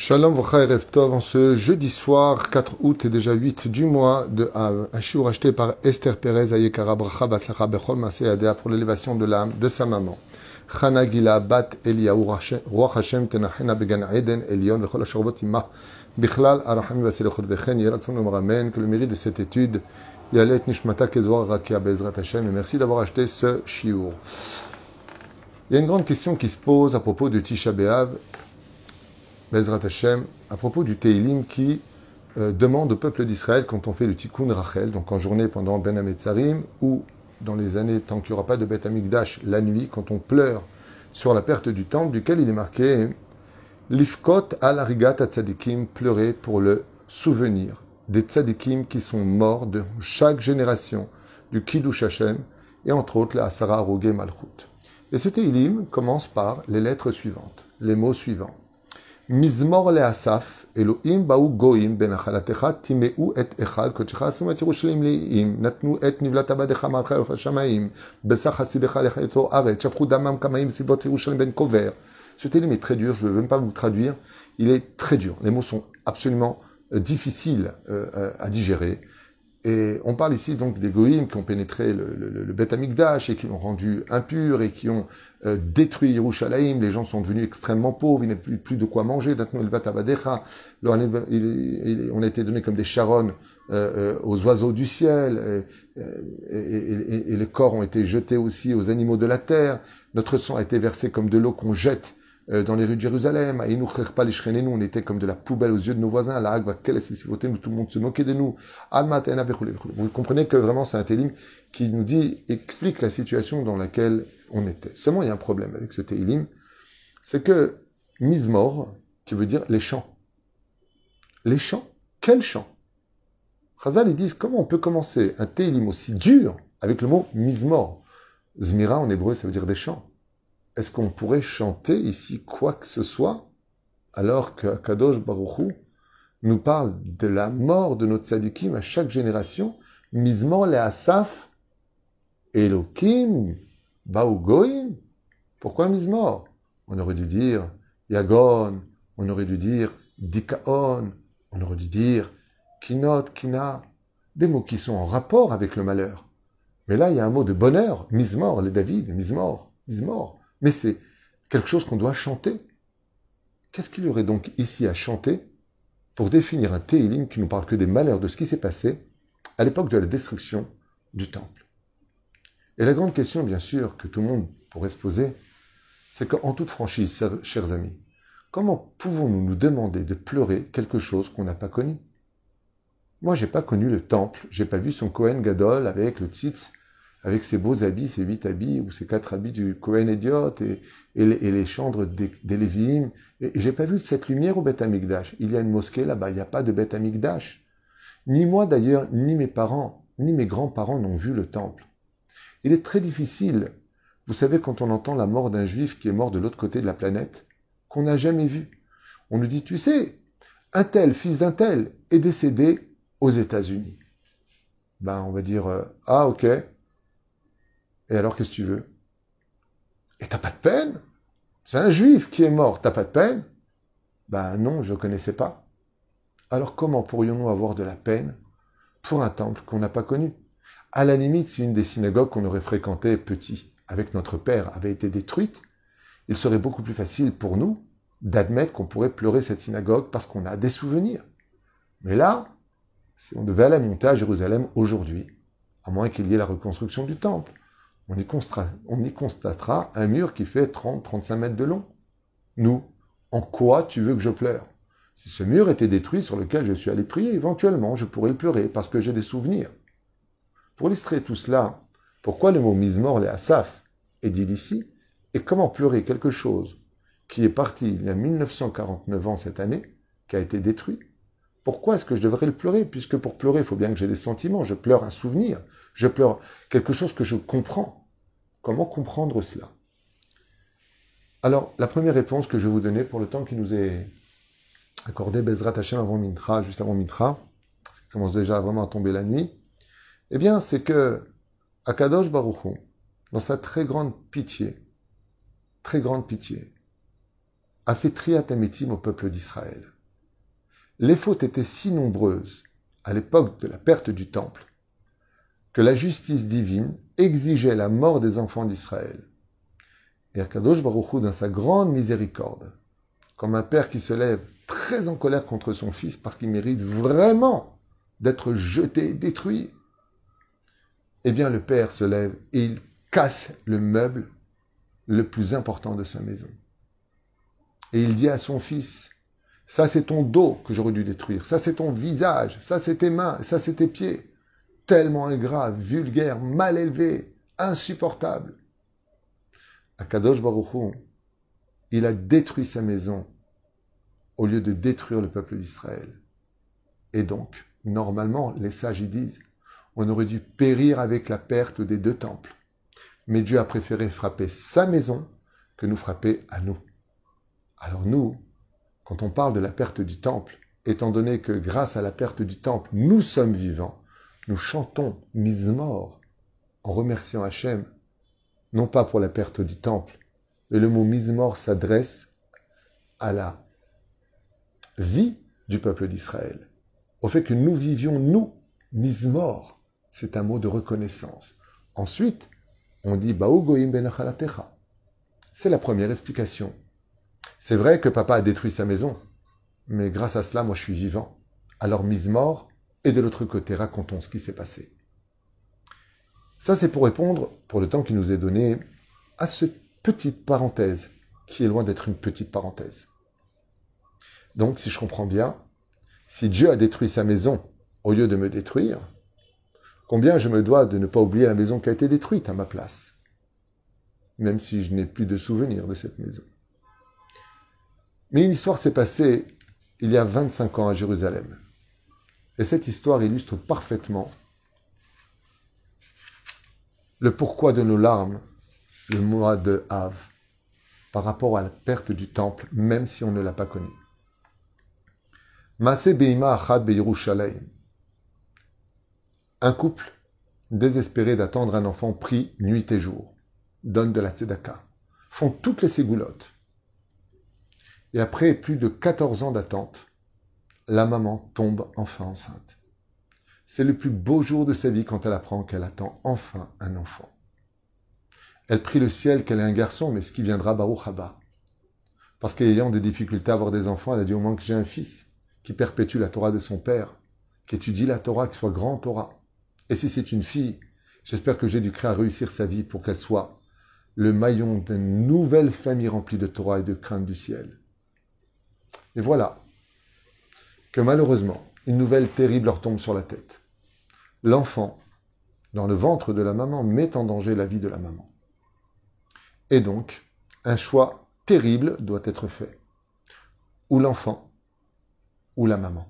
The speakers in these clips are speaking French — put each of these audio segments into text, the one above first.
Shalom Vracha Erev Tov, en ce jeudi soir, 4 août et déjà 8 du mois de Av, un shiur acheté par Esther Perez Ayekara Bracha Batzlacha Bechol Maaseh Yadea pour l'élévation de l'âme de sa maman. Chana Gila Bat Eliyahu Ruach Hashem Tenachena Began Eden Elion Vechol Ashervot Imah Bichlal Arachami Vaselechot Vechen Yeratzon Omramen, que le mérite de cette étude Yalet Nishmata Kezor Rakia Bezrat Hashem, et merci d'avoir acheté ce shiur. Il y a une grande question qui se pose à propos de Tisha B'Av, Bezrat Hashem, à propos du Teilim qui demande au peuple d'Israël, quand on fait le Tikkun Rachel, donc en journée pendant Ben Hametzarim, ou dans les années tant qu'il n'y aura pas de Beth Amikdash, la nuit, quand on pleure sur la perte du temple, duquel il est marqué Lifkot al Arigat Tzadikim, pleurer pour le souvenir des Tzadikim qui sont morts de chaque génération du Kiddush Hashem, et entre autres la Asara Arogé Malchut. Et ce Teilim commence par les lettres suivantes, les mots suivants. Mizmor le Asaf, Elohim baou goim ben achalatecha timeu et echal kodecha asum et Yerushalayim leim natnu et nivlat abadecha malcha el shamayim besach hasidecha lechayeto aret shafchu damam kamaim sibot Yerushalayim ben kover. Ce télim est très dur, je ne veux même pas vous traduire, il est très dur. Les mots sont absolument difficiles à digérer. Et on parle ici donc des goïms qui ont pénétré le Beth Amikdash et qui l'ont rendu impur et qui ont détruit Yerushalayim. Les gens sont devenus extrêmement pauvres, il n'y a plus de quoi manger. On a été donné comme des charognes aux oiseaux du ciel et les corps ont été jetés aussi aux animaux de la terre. Notre sang a été versé comme de l'eau qu'on jette dans les rues de Jérusalem. Nous, on était comme de la poubelle aux yeux de nos voisins. Nous, tout le monde se moquait de nous. Vous comprenez que vraiment c'est un télim qui nous dit, explique la situation dans laquelle on était. Seulement, il y a un problème avec ce télim, c'est que Mizmor, qui veut dire les chants. Les chants? Quels chants? Chazal, ils disent, comment on peut commencer un télim aussi dur avec le mot Mizmor? Zmira, en hébreu, ça veut dire des chants. Est-ce qu'on pourrait chanter ici quoi que ce soit, alors que Kadosh Baruch Hu nous parle de la mort de notre tzadikim à chaque génération? Mizmor le Asaf, Elokim, Baou Goim. Pourquoi Mizmor? On aurait dû dire Yagon, on aurait dû dire Dikaon, on aurait dû dire Kinot, Kina, des mots qui sont en rapport avec le malheur. Mais là, il y a un mot de bonheur, Mizmor, les David, Mizmor, Mizmor. Mais c'est quelque chose qu'on doit chanter. Qu'est-ce qu'il y aurait donc ici à chanter pour définir un Teilim qui nous parle que des malheurs de ce qui s'est passé à l'époque de la destruction du temple? Et la grande question, bien sûr, que tout le monde pourrait se poser, c'est qu'en toute franchise, chers amis, comment pouvons-nous nous demander de pleurer quelque chose qu'on n'a pas connu? Moi, j'ai pas connu le temple, j'ai pas vu son Kohen Gadol avec le tzitz, avec ses beaux habits, ses 8 habits, ou ses 4 habits du Kohen Idiot, et les chandres des Lévi'im. Et j'ai pas vu cette lumière au Beth Amikdash. Il y a une mosquée là-bas, il n'y a pas de Beth Amikdash. Ni moi d'ailleurs, ni mes parents, ni mes grands-parents n'ont vu le temple. Il est très difficile, vous savez, quand on entend la mort d'un juif qui est mort de l'autre côté de la planète, qu'on n'a jamais vu. On nous dit, tu sais, un tel, fils d'un tel, est décédé aux États-Unis. Ben, on va dire, ah ok. Et alors, qu'est-ce que tu veux? Et t'as pas de peine? C'est un juif qui est mort, t'as pas de peine? Ben non, je ne connaissais pas. Alors comment pourrions-nous avoir de la peine pour un temple qu'on n'a pas connu? À la limite, si une des synagogues qu'on aurait fréquentées petit, avec notre père, avait été détruite, il serait beaucoup plus facile pour nous d'admettre qu'on pourrait pleurer cette synagogue parce qu'on a des souvenirs. Mais là, si on devait aller monter à Jérusalem aujourd'hui, à moins qu'il y ait la reconstruction du temple, on y constatera un mur qui fait 30-35 mètres de long. Nous, en quoi tu veux que je pleure? Si ce mur était détruit sur lequel je suis allé prier, éventuellement, je pourrais le pleurer parce que j'ai des souvenirs. Pour illustrer tout cela, pourquoi le mot Mizmor le Asaf est dit ici? Et comment pleurer quelque chose qui est parti il y a 1949 ans cette année, qui a été détruit? Pourquoi est-ce que je devrais le pleurer? Puisque pour pleurer, il faut bien que j'ai des sentiments. Je pleure un souvenir. Je pleure quelque chose que je comprends. Comment comprendre cela? Alors, la première réponse que je vais vous donner pour le temps qui nous est accordé, Bezrat Hashem avant Mintra, juste avant Mintra, parce qu'il commence déjà vraiment à tomber la nuit, eh bien, c'est que Akadosh Baruch Hu, dans sa très grande pitié, a fait triat amitim au peuple d'Israël. Les fautes étaient si nombreuses à l'époque de la perte du temple que la justice divine exigeait la mort des enfants d'Israël. Et Akadosh Baruch Hu, dans sa grande miséricorde, comme un père qui se lève très en colère contre son fils parce qu'il mérite vraiment d'être jeté, détruit, eh bien le père se lève et il casse le meuble le plus important de sa maison. Et il dit à son fils, ça c'est ton dos que j'aurais dû détruire, ça c'est ton visage, ça c'est tes mains, ça c'est tes pieds. Tellement ingrat, vulgaire, mal élevé, insupportable. Akadosh Baruch Hu, il a détruit sa maison au lieu de détruire le peuple d'Israël. Et donc, normalement, les sages y disent, on aurait dû périr avec la perte des 2 temples. Mais Dieu a préféré frapper sa maison que nous frapper à nous. Alors nous, quand on parle de la perte du temple, étant donné que grâce à la perte du temple, nous sommes vivants, nous chantons Mizmor en remerciant Hachem, non pas pour la perte du temple, mais le mot Mizmor s'adresse à la vie du peuple d'Israël, au fait que nous vivions, nous, Mizmor, c'est un mot de reconnaissance. Ensuite, on dit Baou Goïm ben Achalatecha. C'est la première explication. C'est vrai que papa a détruit sa maison, mais grâce à cela, moi je suis vivant. Alors Mizmor, et de l'autre côté, racontons ce qui s'est passé. Ça, c'est pour répondre, pour le temps qui nous est donné, à cette petite parenthèse, qui est loin d'être une petite parenthèse. Donc, si je comprends bien, si Dieu a détruit sa maison au lieu de me détruire, combien je me dois de ne pas oublier la maison qui a été détruite à ma place, même si je n'ai plus de souvenir de cette maison. Mais une histoire s'est passée il y a 25 ans à Jérusalem. Et cette histoire illustre parfaitement le pourquoi de nos larmes le mois de Av par rapport à la perte du temple, même si on ne l'a pas connu. Maaseh Beima Achad Beyerushalayim. Un couple désespéré d'attendre un enfant prie nuit et jour, donne de la tzedaka, font toutes les ségoulottes. Et après plus de 14 ans d'attente, la maman tombe enfin enceinte. C'est le plus beau jour de sa vie quand elle apprend qu'elle attend enfin un enfant. Elle prie le ciel qu'elle ait un garçon, mais ce qui viendra Baruch Haba. Parce qu'ayant des difficultés à avoir des enfants, elle a dit au moins que j'ai un fils qui perpétue la Torah de son père, qui étudie la Torah, qui soit grand Torah. Et si c'est une fille, j'espère que Jésus-Christ a réussir sa vie pour qu'elle soit le maillon d'une nouvelle famille remplie de Torah et de crainte du ciel. Et voilà que malheureusement, une nouvelle terrible leur tombe sur la tête. L'enfant, dans le ventre de la maman, met en danger la vie de la maman. Et donc, un choix terrible doit être fait. Ou l'enfant, ou la maman.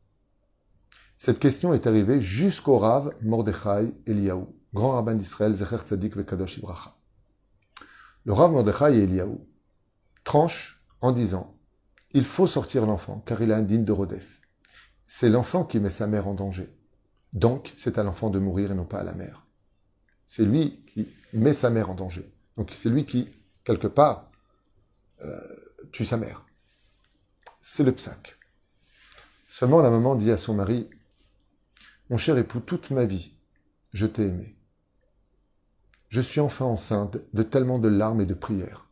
Cette question est arrivée jusqu'au Rav Mordechai Eliyahu, grand rabbin d'Israël, Zecher Tzadik Vekadosh Ibracha. Le Rav Mordechai Eliyahu tranche en disant « Il faut sortir l'enfant, car il est indigne de Rodef. C'est l'enfant qui met sa mère en danger. Donc, c'est à l'enfant de mourir et non pas à la mère. C'est lui qui met sa mère en danger. Donc, c'est lui qui, quelque part, tue sa mère. C'est le psak. Seulement, la maman dit à son mari, « Mon cher époux, toute ma vie, je t'ai aimé. Je suis enfin enceinte de tellement de larmes et de prières.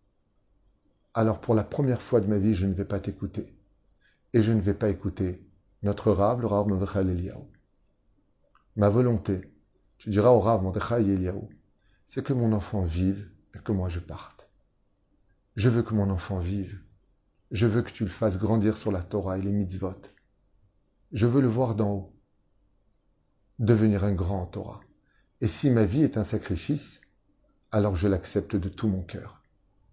Alors, pour la première fois de ma vie, je ne vais pas t'écouter. Et je ne vais pas écouter notre Rav, le Rav Mordechai Eliyahu. Ma volonté, tu diras au Rav Mordechai Eliyahu, c'est que mon enfant vive et que moi je parte. Je veux que mon enfant vive. Je veux que tu le fasses grandir sur la Torah et les mitzvot. Je veux le voir d'en haut, devenir un grand en Torah. Et si ma vie est un sacrifice, alors je l'accepte de tout mon cœur.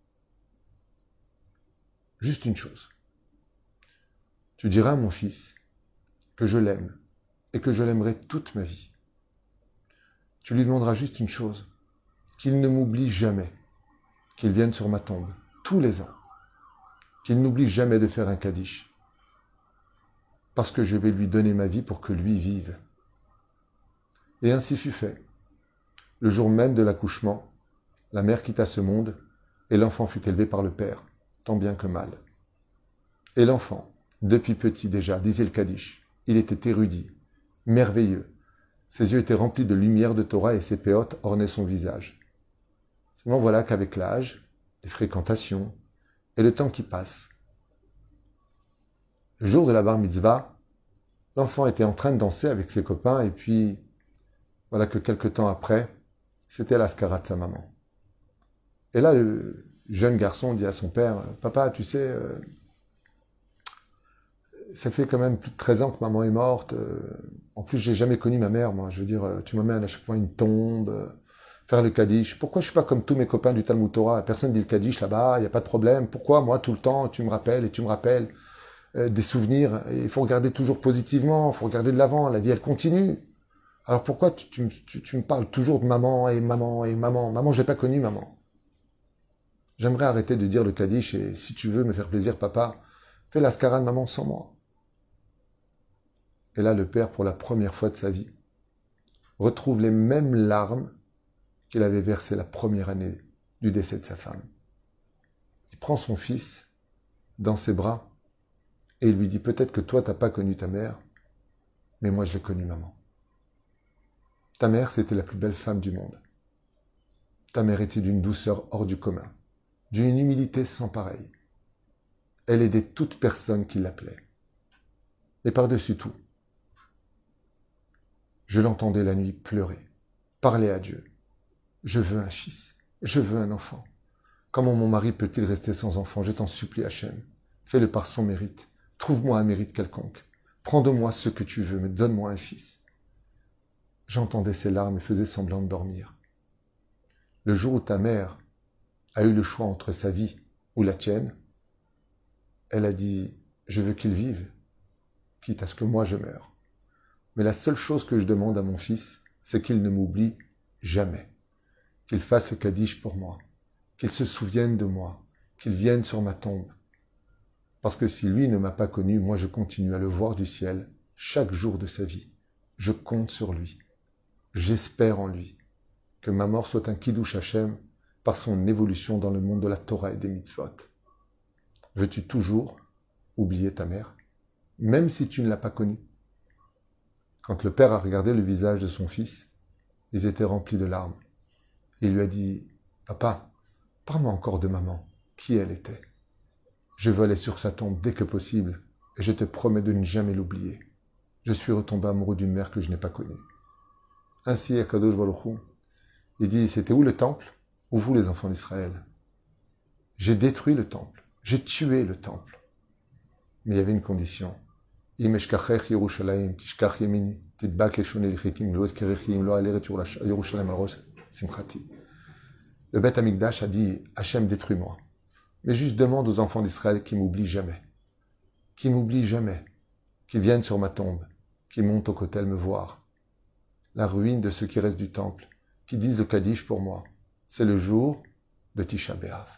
Juste une chose. Tu diras à mon fils que je l'aime et que je l'aimerai toute ma vie. Tu lui demanderas juste une chose, qu'il ne m'oublie jamais, qu'il vienne sur ma tombe tous les ans, qu'il n'oublie jamais de faire un kaddish, parce que je vais lui donner ma vie pour que lui vive. Et ainsi fut fait. Le jour même de l'accouchement, la mère quitta ce monde et l'enfant fut élevé par le père, tant bien que mal. Et l'enfant, Depuis petit déjà, disait le Kaddish. Il était érudit, merveilleux. Ses yeux étaient remplis de lumière de Torah et ses péotes ornaient son visage. Seulement voilà qu'avec l'âge, les fréquentations et le temps qui passe, le jour de la bar mitzvah, l'enfant était en train de danser avec ses copains et puis voilà que quelque temps après, c'était l'ascara de sa maman. Et là, le jeune garçon dit à son père, « Papa, tu sais, ça fait quand même plus de 13 ans que maman est morte. En plus, j'ai jamais connu ma mère, moi. Je veux dire, tu m'emmènes à chaque fois une tombe, faire le Kaddish. Pourquoi je suis pas comme tous mes copains du Talmud Torah? Personne dit le Kaddish là-bas, il n'y a pas de problème. Pourquoi, moi, tout le temps, tu me rappelles et tu me rappelles des souvenirs? Et il faut regarder toujours positivement, il faut regarder de l'avant. La vie, elle continue. Alors pourquoi tu me parles toujours de maman et maman et maman? Maman, je l'ai pas connue, maman. J'aimerais arrêter de dire le Kaddish et si tu veux me faire plaisir, papa, fais l'ascara de maman sans moi. Et là, le père, pour la première fois de sa vie, retrouve les mêmes larmes qu'il avait versées la première année du décès de sa femme. Il prend son fils dans ses bras et il lui dit, peut-être que toi, tu n'as pas connu ta mère, mais moi, je l'ai connue, maman. Ta mère, c'était la plus belle femme du monde. Ta mère était d'une douceur hors du commun, d'une humilité sans pareille. Elle aidait toute personne qui l'appelait. Et par-dessus tout, je l'entendais la nuit pleurer, parler à Dieu. Je veux un fils, je veux un enfant. Comment mon mari peut-il rester sans enfant? Je t'en supplie, Hachem. Fais-le par son mérite. Trouve-moi un mérite quelconque. Prends de moi ce que tu veux, mais donne-moi un fils. J'entendais ses larmes et faisais semblant de dormir. Le jour où ta mère a eu le choix entre sa vie ou la tienne, elle a dit, je veux qu'il vive, quitte à ce que moi je meure. Mais la seule chose que je demande à mon fils, c'est qu'il ne m'oublie jamais. Qu'il fasse le Kaddish pour moi. Qu'il se souvienne de moi. Qu'il vienne sur ma tombe. Parce que si lui ne m'a pas connu, moi je continue à le voir du ciel chaque jour de sa vie. Je compte sur lui. J'espère en lui. Que ma mort soit un Kiddush Hashem par son évolution dans le monde de la Torah et des mitzvot. Veux-tu toujours oublier ta mère, même si tu ne l'as pas connue? Quand le père a regardé le visage de son fils, ils étaient remplis de larmes. Il lui a dit, « Papa, parle-moi encore de maman, qui elle était. Je veux aller sur sa tombe dès que possible, et je te promets de ne jamais l'oublier. Je suis retombé amoureux d'une mère que je n'ai pas connue. » Ainsi, Akadosh Baruch Hu, il dit, « C'était où le temple? Ou vous les enfants d'Israël? J'ai détruit le temple, j'ai tué le temple. » Mais il y avait une condition. Le Beth Amikdash a dit, Hachem, détruis-moi. Mais juste demande aux enfants d'Israël qu'ils m'oublient jamais. Qu'ils m'oublient jamais. Qu'ils viennent sur ma tombe. Qu'ils montent au kotel me voir. La ruine de ce qui reste du temple. Qui disent le Kaddish pour moi. C'est le jour de Tisha B'Av.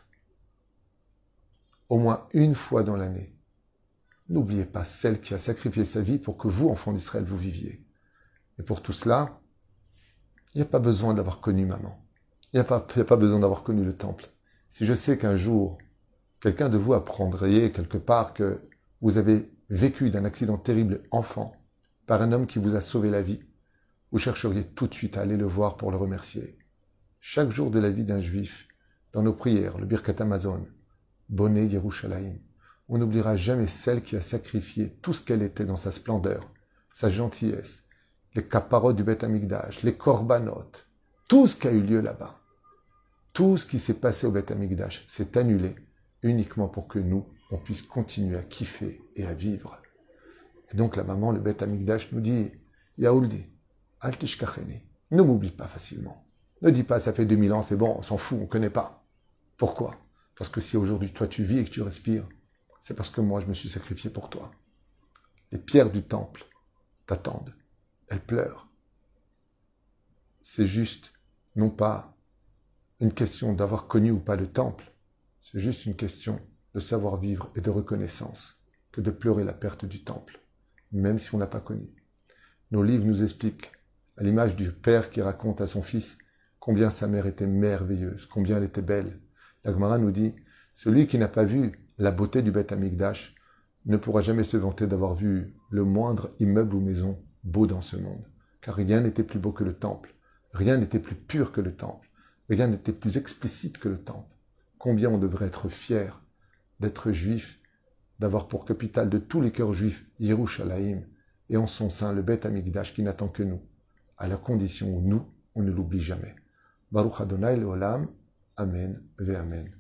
Au moins une fois dans l'année. N'oubliez pas celle qui a sacrifié sa vie pour que vous, enfants d'Israël, vous viviez. Et pour tout cela, il n'y a pas besoin d'avoir connu maman. Il n'y a pas besoin d'avoir connu le temple. Si je sais qu'un jour, quelqu'un de vous apprendrait quelque part que vous avez vécu d'un accident terrible enfant par un homme qui vous a sauvé la vie, vous chercheriez tout de suite à aller le voir pour le remercier. Chaque jour de la vie d'un juif, dans nos prières, le Birkat Hamazon, Bonné Yerushalayim, on n'oubliera jamais celle qui a sacrifié tout ce qu'elle était dans sa splendeur, sa gentillesse, les kaparot du Beth Amikdash, les korbanot, tout ce qui a eu lieu là-bas. Tout ce qui s'est passé au Beth Amikdash s'est annulé uniquement pour que nous, on puisse continuer à kiffer et à vivre. Et donc la maman, le Beth Amikdash, nous dit, Yaouldi, al tishkacheni, ne m'oublie pas facilement. Ne dis pas, ça fait 2000 ans, c'est bon, on s'en fout, on ne connaît pas. Pourquoi? Parce que si aujourd'hui toi tu vis et que tu respires, c'est parce que moi je me suis sacrifié pour toi. Les pierres du temple t'attendent, elles pleurent. C'est juste, non pas une question d'avoir connu ou pas le temple, c'est juste une question de savoir vivre et de reconnaissance que de pleurer la perte du temple, même si on n'a pas connu. Nos livres nous expliquent, à l'image du père qui raconte à son fils combien sa mère était merveilleuse, combien elle était belle. La Gemara nous dit, celui qui n'a pas vu la beauté du Beth Amikdash ne pourra jamais se vanter d'avoir vu le moindre immeuble ou maison beau dans ce monde. Car rien n'était plus beau que le temple, rien n'était plus pur que le temple, rien n'était plus explicite que le temple. Combien on devrait être fier d'être juif, d'avoir pour capitale de tous les cœurs juifs Yerushalayim, et en son sein le Beth Amikdash qui n'attend que nous, à la condition où nous, on ne l'oublie jamais. Baruch Adonai Leolam, Amen ve Amen.